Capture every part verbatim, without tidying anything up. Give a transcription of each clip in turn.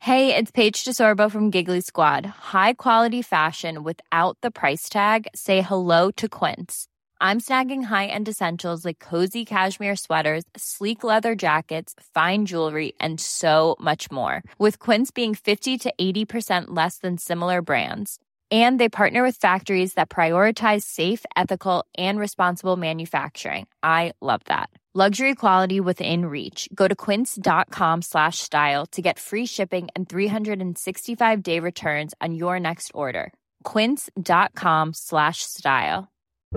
Hey, it's Paige DeSorbo from Giggly Squad. High quality fashion without the price tag. Say hello to Quince. I'm snagging high-end essentials like cozy cashmere sweaters, sleek leather jackets, fine jewelry, and so much more. With Quince being fifty to eighty percent less than similar brands. And they partner with factories that prioritize safe, ethical, and responsible manufacturing. I love that. Luxury quality within reach. Go to quince.com slash style to get free shipping and three sixty-five day returns on your next order. Quince.com slash style.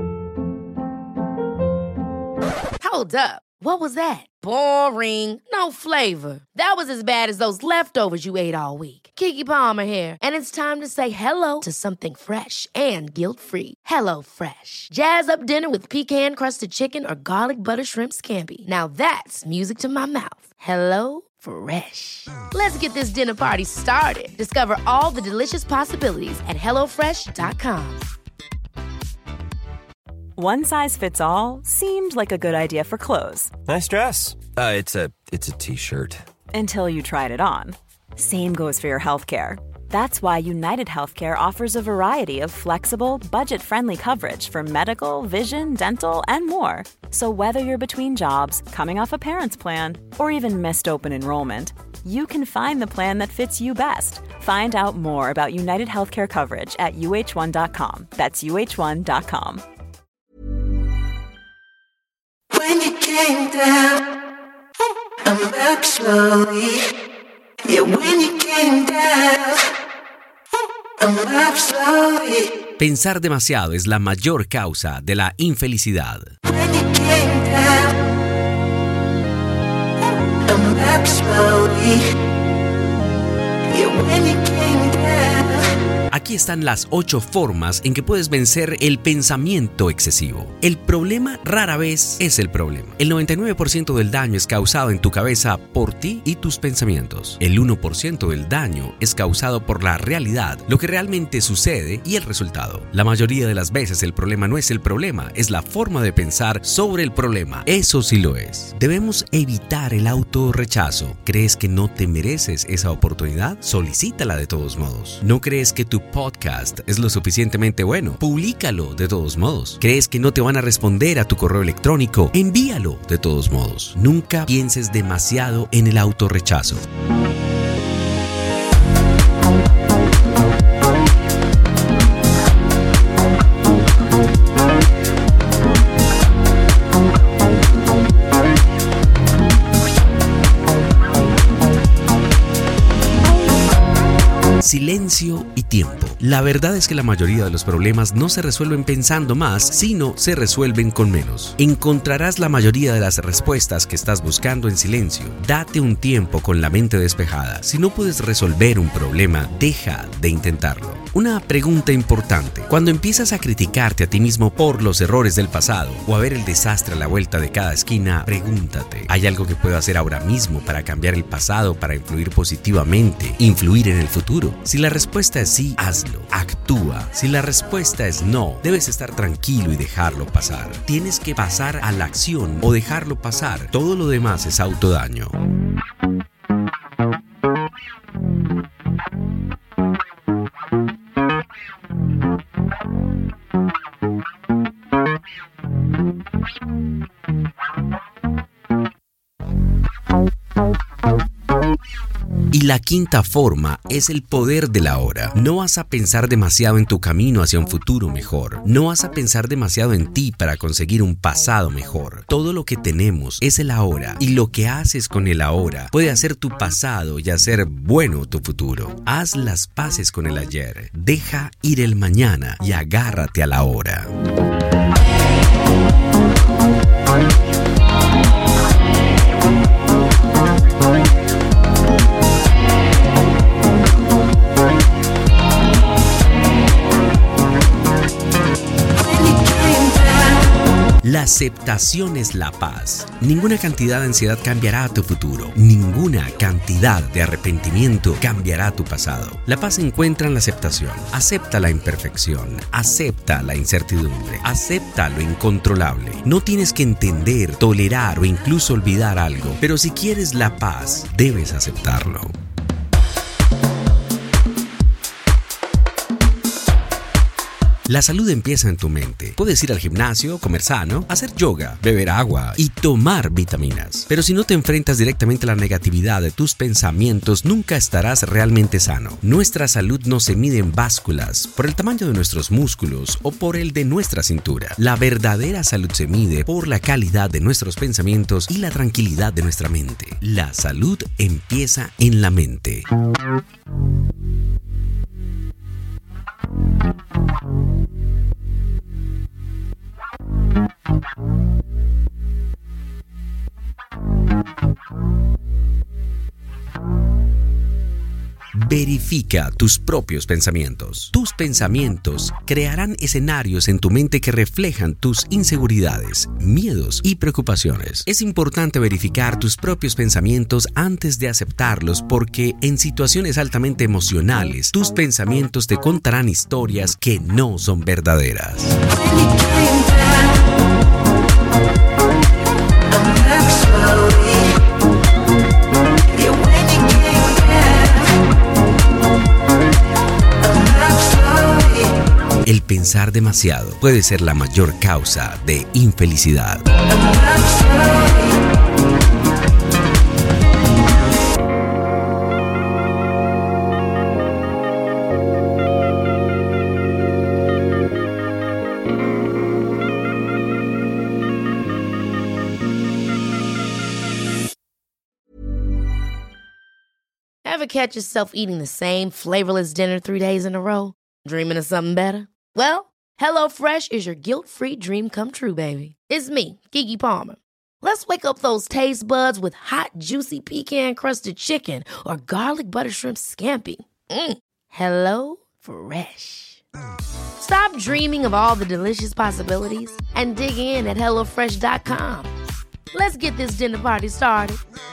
Hold up. What was that? Boring. No flavor. That was as bad as those leftovers you ate all week. Keke Palmer here. And it's time to say hello to something fresh and guilt-free. Hello Fresh. Jazz up dinner with pecan-crusted chicken or garlic butter shrimp scampi. Now that's music to my mouth. Hello Fresh. Let's get this dinner party started. Discover all the delicious possibilities at hello fresh dot com. One size fits all seemed like a good idea for clothes. Nice dress. Uh, it's a it's a t-shirt. Until you tried it on. Same goes for your healthcare. That's why United Healthcare offers a variety of flexible, budget-friendly coverage for medical, vision, dental, and more. So whether you're between jobs, coming off a parent's plan, or even missed open enrollment, you can find the plan that fits you best. Find out more about United Healthcare coverage at U H one dot com. That's U H one dot com. When you came down, I'm back slowly. Yeah, when you came down, I'm back slowly. Pensar demasiado es la mayor causa de la infelicidad. When you came down, I'm back slowly. Yeah, when you came down. Aquí están las ocho formas en que puedes vencer el pensamiento excesivo. El problema rara vez es el problema. El noventa y nueve por ciento del daño es causado en tu cabeza por ti y tus pensamientos. El uno por ciento del daño es causado por la realidad, lo que realmente sucede y el resultado. La mayoría de las veces el problema no es el problema, es la forma de pensar sobre el problema. Eso sí lo es. Debemos evitar el autorrechazo. ¿Crees que no te mereces esa oportunidad? Solicítala de todos modos. ¿No crees que tu podcast es lo suficientemente bueno? Publícalo de todos modos. ¿Crees que no te van a responder a tu correo electrónico? Envíalo de todos modos. Nunca pienses demasiado en el autorrechazo. Silencio y tiempo. La verdad es que la mayoría de los problemas no se resuelven pensando más, sino se resuelven con menos. Encontrarás la mayoría de las respuestas que estás buscando en silencio. Date un tiempo con la mente despejada. Si no puedes resolver un problema, deja de intentarlo. Una pregunta importante. Cuando empiezas a criticarte a ti mismo por los errores del pasado o a ver el desastre a la vuelta de cada esquina, pregúntate, ¿hay algo que puedo hacer ahora mismo para cambiar el pasado, para influir positivamente, influir en el futuro? Si la respuesta es sí, hazlo, actúa. Si la respuesta es no, debes estar tranquilo y dejarlo pasar. Tienes que pasar a la acción o dejarlo pasar. Todo lo demás es autodaño. Y la quinta forma es el poder de la hora. No vas a pensar demasiado en tu camino hacia un futuro mejor. No vas a pensar demasiado en ti para conseguir un pasado mejor. Todo lo que tenemos es el ahora, y lo que haces con el ahora puede hacer tu pasado y hacer bueno tu futuro. Haz las paces con el ayer, deja ir el mañana y agárrate a la hora. La aceptación es la paz. Ninguna cantidad de ansiedad cambiará tu futuro. Ninguna cantidad de arrepentimiento cambiará tu pasado. La paz se encuentra en la aceptación. Acepta la imperfección. Acepta la incertidumbre. Acepta lo incontrolable. No tienes que entender, tolerar o incluso olvidar algo, pero si quieres la paz, debes aceptarlo. La salud empieza en tu mente. Puedes ir al gimnasio, comer sano, hacer yoga, beber agua y tomar vitaminas. Pero si no te enfrentas directamente a la negatividad de tus pensamientos, nunca estarás realmente sano. Nuestra salud no se mide en básculas, por el tamaño de nuestros músculos o por el de nuestra cintura. La verdadera salud se mide por la calidad de nuestros pensamientos y la tranquilidad de nuestra mente. La salud empieza en la mente. Verifica tus propios pensamientos. Tus pensamientos crearán escenarios en tu mente que reflejan tus inseguridades, miedos y preocupaciones. Es importante verificar tus propios pensamientos antes de aceptarlos porque en situaciones altamente emocionales, tus pensamientos te contarán historias que no son verdaderas. El pensar demasiado puede ser la mayor causa de infelicidad. Ever catch yourself eating the same flavorless dinner three days in a row? Dreaming of something better? Well, HelloFresh is your guilt-free dream come true, baby. It's me, Keke Palmer. Let's wake up those taste buds with hot, juicy pecan-crusted chicken or garlic butter shrimp scampi. Mm. Hello Fresh. Stop dreaming of all the delicious possibilities and dig in at hello fresh dot com. Let's get this dinner party started.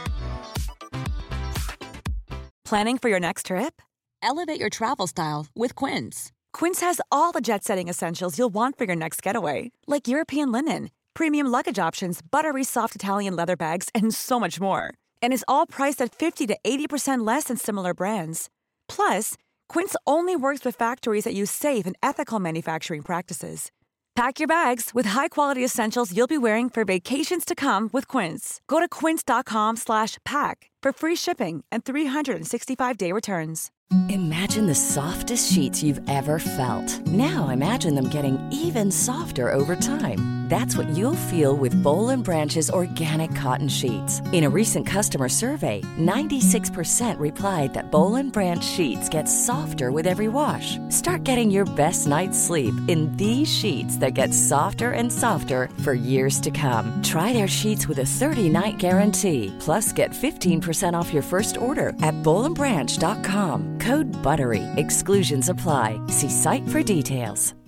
Planning for your next trip? Elevate your travel style with Quince. Quince has all the jet-setting essentials you'll want for your next getaway, like European linen, premium luggage options, buttery soft Italian leather bags, and so much more. And is all priced at fifty to eighty percent less than similar brands. Plus, Quince only works with factories that use safe and ethical manufacturing practices. Pack your bags with high-quality essentials you'll be wearing for vacations to come with Quince. Go to quince.com slash pack for free shipping and three sixty-five day returns. Imagine the softest sheets you've ever felt. Now imagine them getting even softer over time. That's what you'll feel with Boll and Branch's organic cotton sheets. In a recent customer survey, ninety-six percent replied that Boll and Branch sheets get softer with every wash. Start getting your best night's sleep in these sheets that get softer and softer for years to come. Try their sheets with a thirty-night guarantee. Plus, get fifteen percent off your first order at boll and branch dot com. Code BUTTERY. Exclusions apply. See site for details.